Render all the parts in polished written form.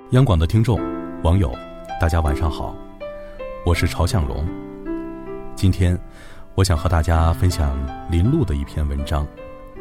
央广的听众、网友，大家晚上好，我是朝向荣。今天我想和大家分享林路的一篇文章。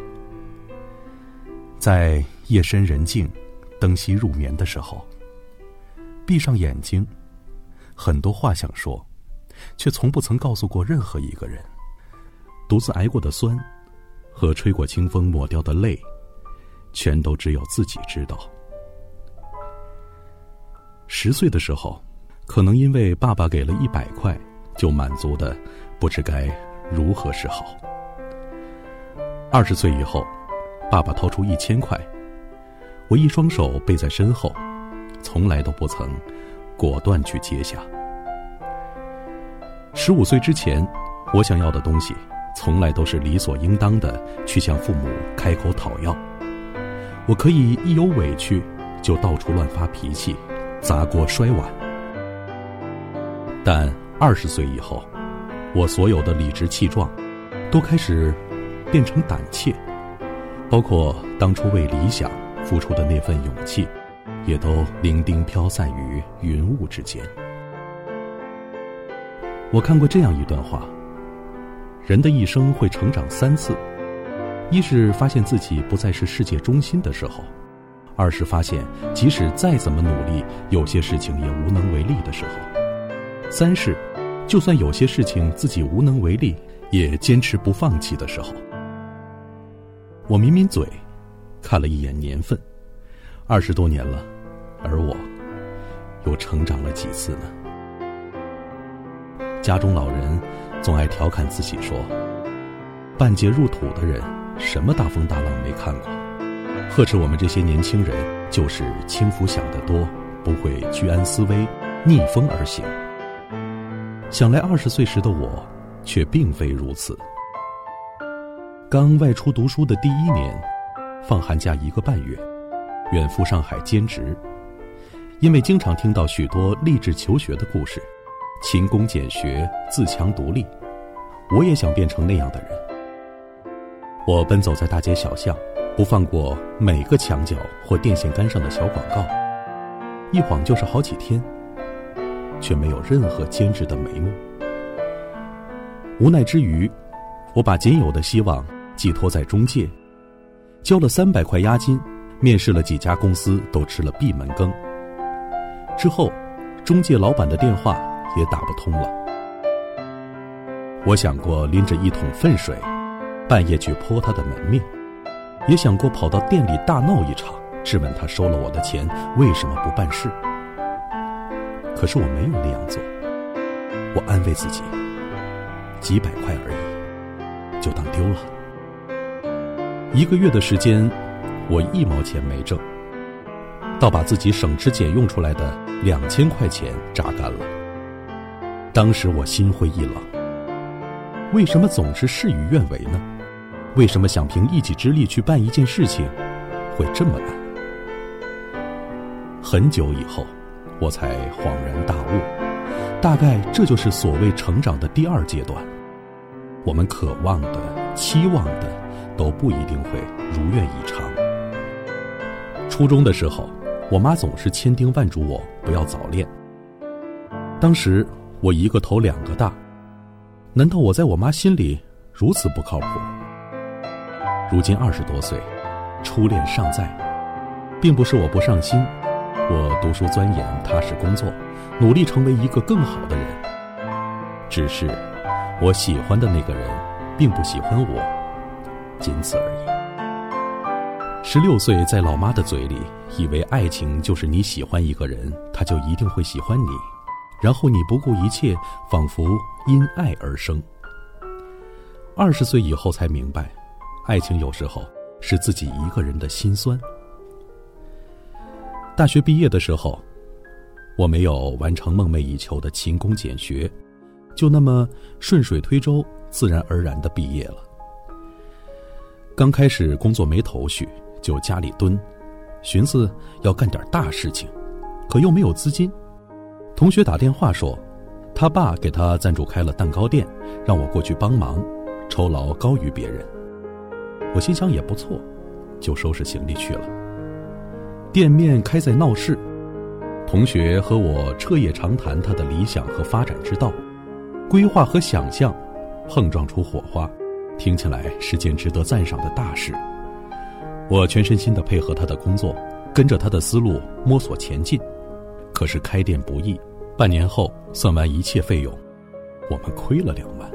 在夜深人静、灯熄入眠的时候，闭上眼睛，很多话想说，却从不曾告诉过任何一个人。独自挨过的酸和吹过清风抹掉的泪，全都只有自己知道。10岁的时候，可能因为爸爸给了100块，就满足的不知该如何是好。20岁以后，爸爸掏出1000块，我一双手背在身后，从来都不曾果断去接下。15岁之前，我想要的东西从来都是理所应当的去向父母开口讨要。我可以一有委屈就到处乱发脾气，砸锅摔碗。但20岁以后，我所有的理直气壮都开始变成胆怯，包括当初为理想付出的那份勇气，也都零丁飘散于云雾之间。我看过这样一段话，人的一生会成长3次，一是发现自己不再是世界中心的时候，二是发现即使再怎么努力，有些事情也无能为力的时候，三是就算有些事情自己无能为力，也坚持不放弃的时候。我抿抿嘴，看了一眼年份，20多年了，而我又成长了几次呢？家中老人总爱调侃自己说，半截入土的人什么大风大浪没看过，呵斥我们这些年轻人就是轻浮想得多，不会居安思危，逆风而行。想来20岁时的我却并非如此。刚外出读书的第1年，放寒假1个半月，远赴上海兼职。因为经常听到许多励志求学的故事，勤工俭学，自强独立，我也想变成那样的人。我奔走在大街小巷，不放过每个墙角或电线杆上的小广告，一晃就是好几天，却没有任何坚持的眉目。无奈之余，我把仅有的希望寄托在中介，交了300块押金，面试了几家公司，都吃了闭门羹。之后，中介老板的电话也打不通了。我想过拎着1桶粪水，半夜去泼他的门面，也想过跑到店里大闹一场，质问他收了我的钱为什么不办事。可是我没有那样做，我安慰自己，几百块而已，就当丢了。1个月的时间，我1毛钱没挣，倒把自己省吃俭用出来的2000块钱榨干了。当时我心灰意冷，为什么总是事与愿违呢？为什么想凭一己之力去办一件事情会这么难？很久以后，我才恍然大悟，大概这就是所谓成长的第2阶段。我们渴望的、期望的，都不一定会如愿以偿。初中的时候，我妈总是千叮万嘱我不要早恋。当时我1个头2个大，难道我在我妈心里如此不靠谱？如今20多岁，初恋尚在，并不是我不上心，我读书钻研，踏实工作，努力成为一个更好的人。只是我喜欢的那个人并不喜欢我，仅此而已。16岁在老妈的嘴里，以为爱情就是你喜欢一个人，他就一定会喜欢你，然后你不顾一切，仿佛因爱而生。20岁以后才明白，爱情有时候是自己一个人的心酸。大学毕业的时候，我没有完成梦寐以求的勤工俭学，就那么顺水推舟，自然而然地毕业了。刚开始工作没头绪，就家里蹲，寻思要干点大事情，可又没有资金。同学打电话说，他爸给他赞助开了蛋糕店，让我过去帮忙，酬劳高于别人。我心想也不错，就收拾行李去了。店面开在闹市， 同学和我彻夜长谈他的理想和发展之道，规划和想象碰撞出火花，听起来是件值得赞赏的大事。我全身心地配合他的工作，跟着他的思路摸索前进。可是开店不易，半年后算完一切费用，我们亏了2万。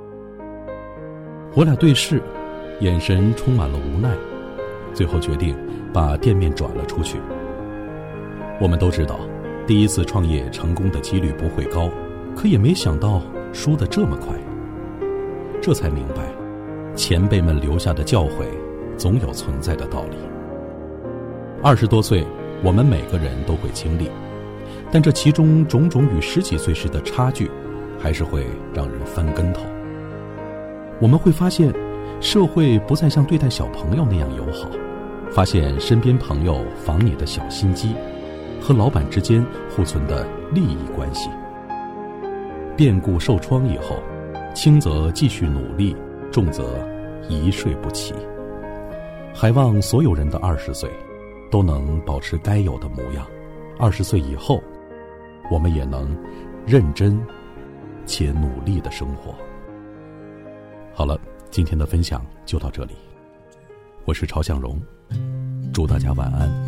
我俩对视，眼神充满了无奈，最后决定把店面转了出去。我们都知道，第一次创业成功的几率不会高，可也没想到输得这么快。这才明白，前辈们留下的教诲总有存在的道理。20多岁，我们每个人都会经历，但这其中种种与10几岁时的差距，还是会让人翻跟头。我们会发现，社会不再像对待小朋友那样友好，发现身边朋友防你的小心机，和老板之间互存的利益关系。变故受创以后，轻则继续努力，重则一睡不起。还望所有人的20岁都能保持该有的模样，20岁以后，我们也能认真且努力的生活。好了，今天的分享就到这里，我是朝向荣，祝大家晚安。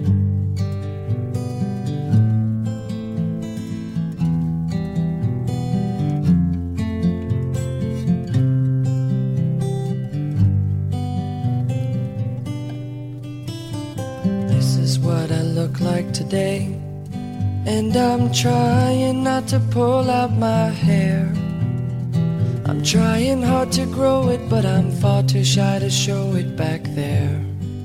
What I look like today, and I'm trying not to pull out my hair. I'm trying hard to grow it, but I'm far too shy to show it back there.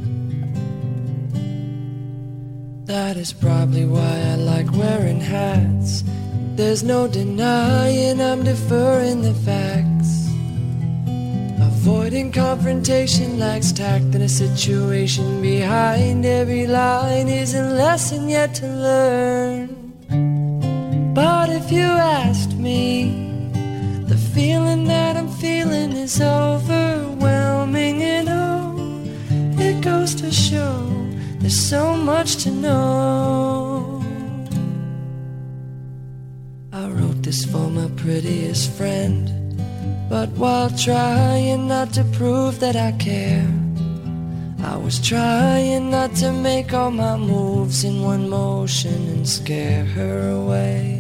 That is probably why I like wearing hats. There's no denying I'm deferring the facts. Avoiding confrontation lacks tact in a situation. Behind every line is a lesson yet to learn. But if you asked me, the feeling that I'm feeling is overwhelming. And oh, it goes to show there's so much to know. I wrote this for my prettiest friend, but while trying not to prove that I care, I was trying not to make all my moves in one motion and scare her away.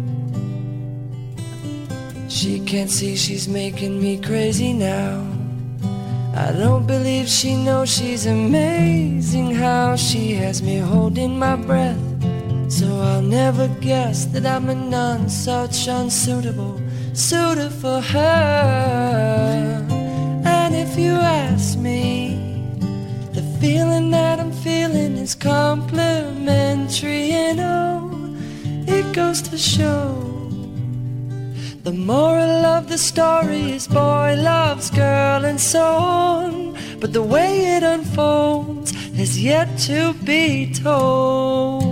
She can't see she's making me crazy now. I don't believe she knows she's amazing, how she has me holding my breath. So I'll never guess that I'm a none such unsuitable suitor for her. And if you ask me, the feeling that I'm feeling is complimentary. And oh, it goes to show, the moral of the story is boy loves girl and so on. But the way it unfolds is yet to be told.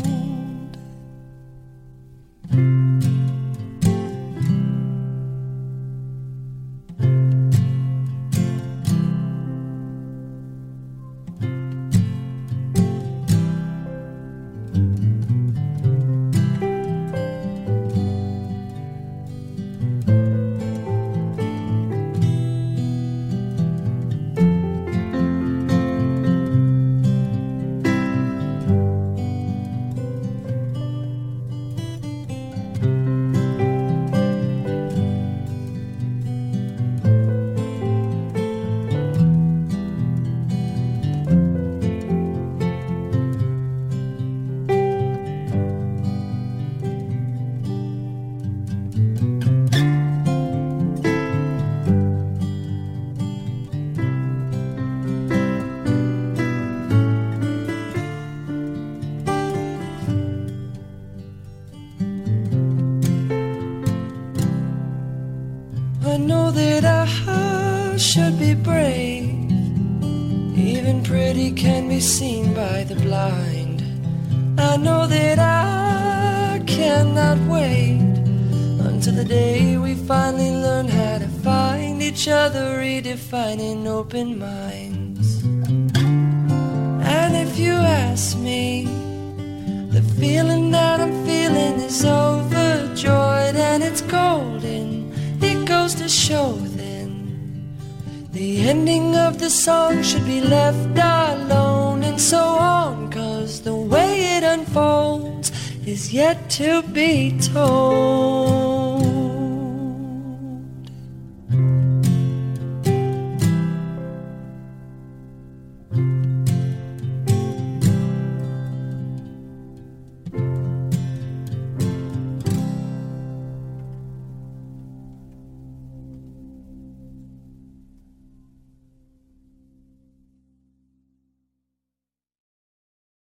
I know that I should be brave. Even pretty can be seen by the blind. I know that I cannot wait until the day we finally learn how to find each other, redefining open minds. And if you ask me, the feeling that I'm feeling is overjoyed and it's golden. It goes to show then the ending of the song should be left alone and so on, 'cause the way it unfolds is yet to be told.